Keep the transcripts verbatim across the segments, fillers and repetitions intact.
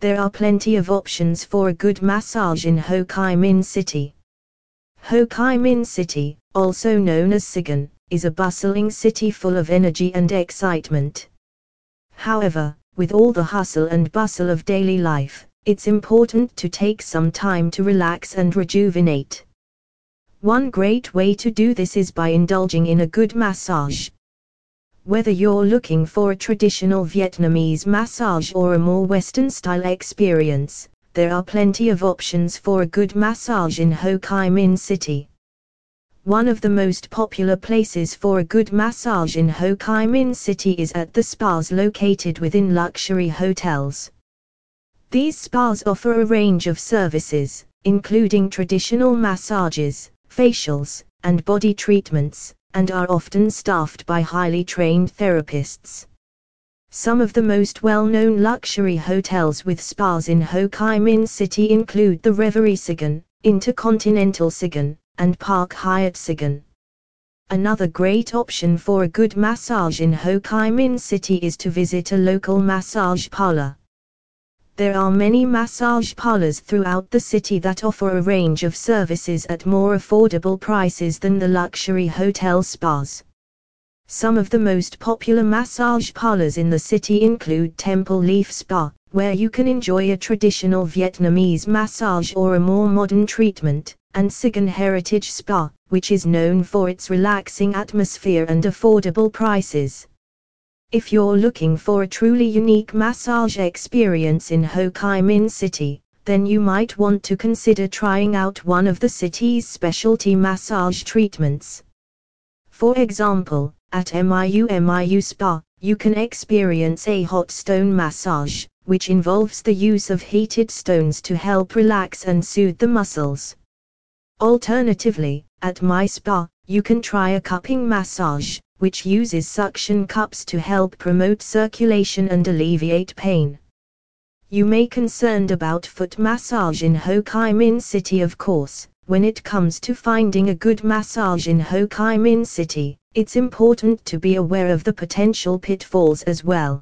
There are plenty of options for a good massage in Ho Chi Minh City. Ho Chi Minh City, also known as Saigon, is a bustling city full of energy and excitement. However, with all the hustle and bustle of daily life, it's important to take some time to relax and rejuvenate. One great way to do this is by indulging in a good massage. Whether you're looking for a traditional Vietnamese massage or a more Western-style experience, there are plenty of options for a good massage in Ho Chi Minh City. One of the most popular places for a good massage in Ho Chi Minh City is at the spas located within luxury hotels. These spas offer a range of services, including traditional massages, facials, and body treatments, and are often staffed by highly trained therapists. Some of the most well-known luxury hotels with spas in Ho Chi Minh City include the Reverie Saigon, Intercontinental Saigon, and Park Hyatt Saigon. Another great option for a good massage in Ho Chi Minh City is to visit a local massage parlor. There are many massage parlors throughout the city that offer a range of services at more affordable prices than the luxury hotel spas. Some of the most popular massage parlors in the city include Temple Leaf Spa, where you can enjoy a traditional Vietnamese massage or a more modern treatment, and Saigon Heritage Spa, which is known for its relaxing atmosphere and affordable prices. If you're looking for a truly unique massage experience in Ho Chi Minh City, then you might want to consider trying out one of the city's specialty massage treatments. For example, at Miu Miu Spa, you can experience a hot stone massage, which involves the use of heated stones to help relax and soothe the muscles. Alternatively, at My Spa, you can try a cupping massage, which uses suction cups to help promote circulation and alleviate pain. You may be concerned about foot massage in Ho Chi Minh City. Of course, when it comes to finding a good massage in Ho Chi Minh City, it's important to be aware of the potential pitfalls as well.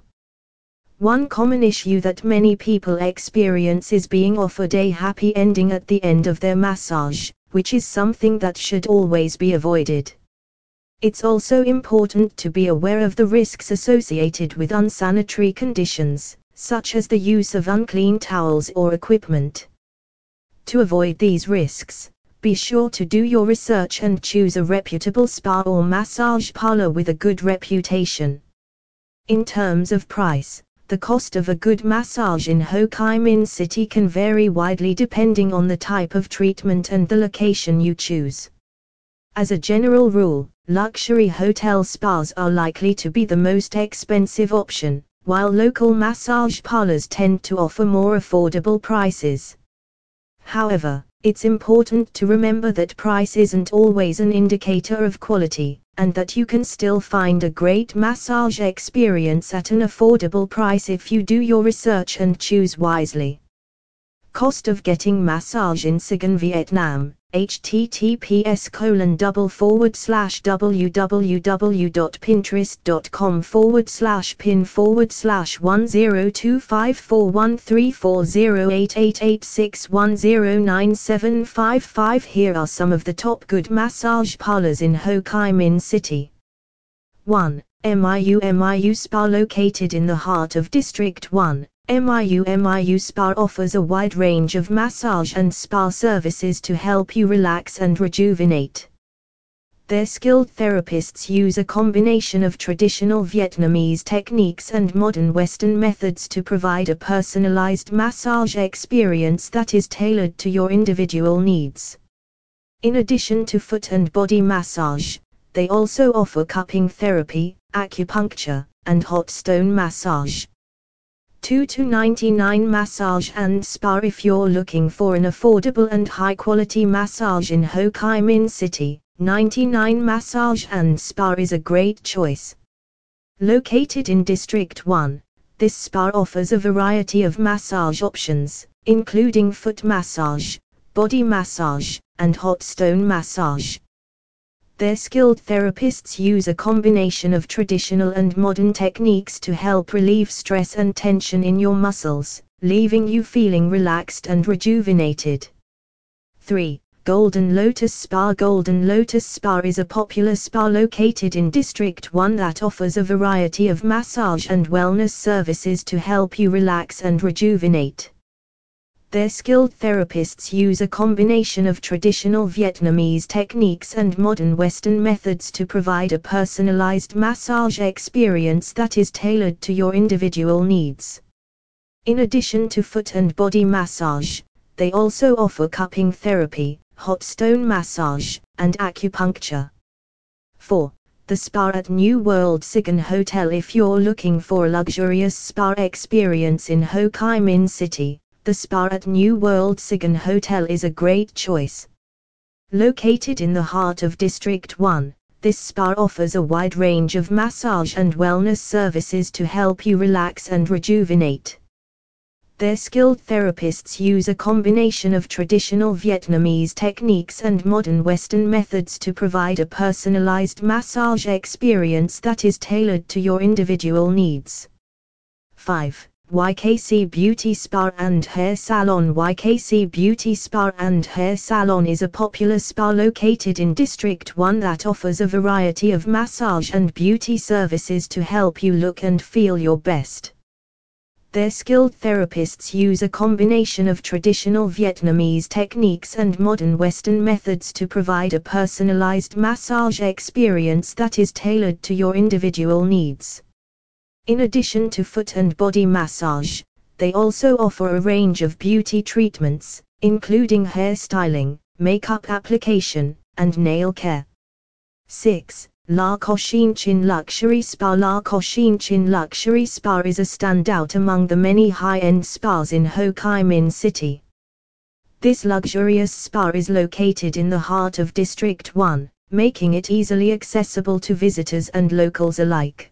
One common issue that many people experience is being offered a happy ending at the end of their massage, which is something that should always be avoided. It's also important to be aware of the risks associated with unsanitary conditions, such as the use of unclean towels or equipment. To avoid these risks, be sure to do your research and choose a reputable spa or massage parlor with a good reputation. In terms of price, the cost of a good massage in Ho Chi Minh City can vary widely depending on the type of treatment and the location you choose. As a general rule, luxury hotel spas are likely to be the most expensive option, while local massage parlors tend to offer more affordable prices. However, it's important to remember that price isn't always an indicator of quality, and that you can still find a great massage experience at an affordable price if you do your research and choose wisely. Cost of getting massage in Saigon, Vietnam. https colon double forward slash www.pinterest.com forward slash pin forward slash one zero two five four one three four zero eight eight eight six one zero nine seven five five. Here are some of the top good massage parlors in Ho Chi Minh City. one. Miu Miu Spa. Located in the heart of District one, Miu Miu Spa offers a wide range of massage and spa services to help you relax and rejuvenate. Their skilled therapists use a combination of traditional Vietnamese techniques and modern Western methods to provide a personalized massage experience that is tailored to your individual needs. In addition to foot and body massage, they also offer cupping therapy, acupuncture, and hot stone massage. two to ninety-nine Massage and Spa. If you're looking for an affordable and high-quality massage in Ho Chi Minh City, ninety-nine Massage and Spa is a great choice. Located in District one, this spa offers a variety of massage options, including foot massage, body massage, and hot stone massage. Their skilled therapists use a combination of traditional and modern techniques to help relieve stress and tension in your muscles, leaving you feeling relaxed and rejuvenated. three. Golden Lotus Spa. Golden Lotus Spa is a popular spa located in District one that offers a variety of massage and wellness services to help you relax and rejuvenate. Their skilled therapists use a combination of traditional Vietnamese techniques and modern Western methods to provide a personalized massage experience that is tailored to your individual needs. In addition to foot and body massage, they also offer cupping therapy, hot stone massage, and acupuncture. four. The Spa at New World Saigon Hotel. If you're looking for a luxurious spa experience in Ho Chi Minh City, the Spa at New World Saigon Hotel is a great choice. Located in the heart of District one, this spa offers a wide range of massage and wellness services to help you relax and rejuvenate. Their skilled therapists use a combination of traditional Vietnamese techniques and modern Western methods to provide a personalized massage experience that is tailored to your individual needs. five. Y K C Beauty Spa and Hair Salon. Y K C Beauty Spa and Hair Salon is a popular spa located in District one that offers a variety of massage and beauty services to help you look and feel your best. Their skilled therapists use a combination of traditional Vietnamese techniques and modern Western methods to provide a personalized massage experience that is tailored to your individual needs. In addition to foot and body massage, they also offer a range of beauty treatments, including hair styling, makeup application, and nail care. six. La Cochin Chin Luxury Spa. La Cochin Chin Luxury Spa is a standout among the many high-end spas in Ho Chi Minh City. This luxurious spa is located in the heart of District one, making it easily accessible to visitors and locals alike.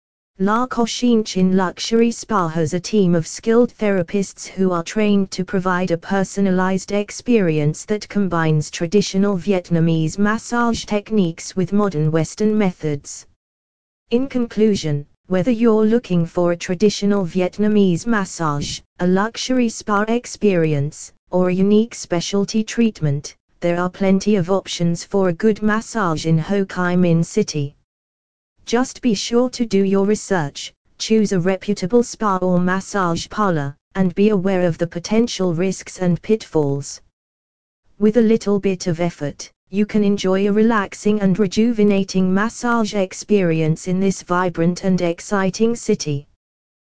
La Cochin Chin Luxury Spa has a team of skilled therapists who are trained to provide a personalized experience that combines traditional Vietnamese massage techniques with modern Western methods. In conclusion, whether you're looking for a traditional Vietnamese massage, a luxury spa experience, or a unique specialty treatment, there are plenty of options for a good massage in Ho Chi Minh City. Just be sure to do your research, choose a reputable spa or massage parlor, and be aware of the potential risks and pitfalls. With a little bit of effort, you can enjoy a relaxing and rejuvenating massage experience in this vibrant and exciting city.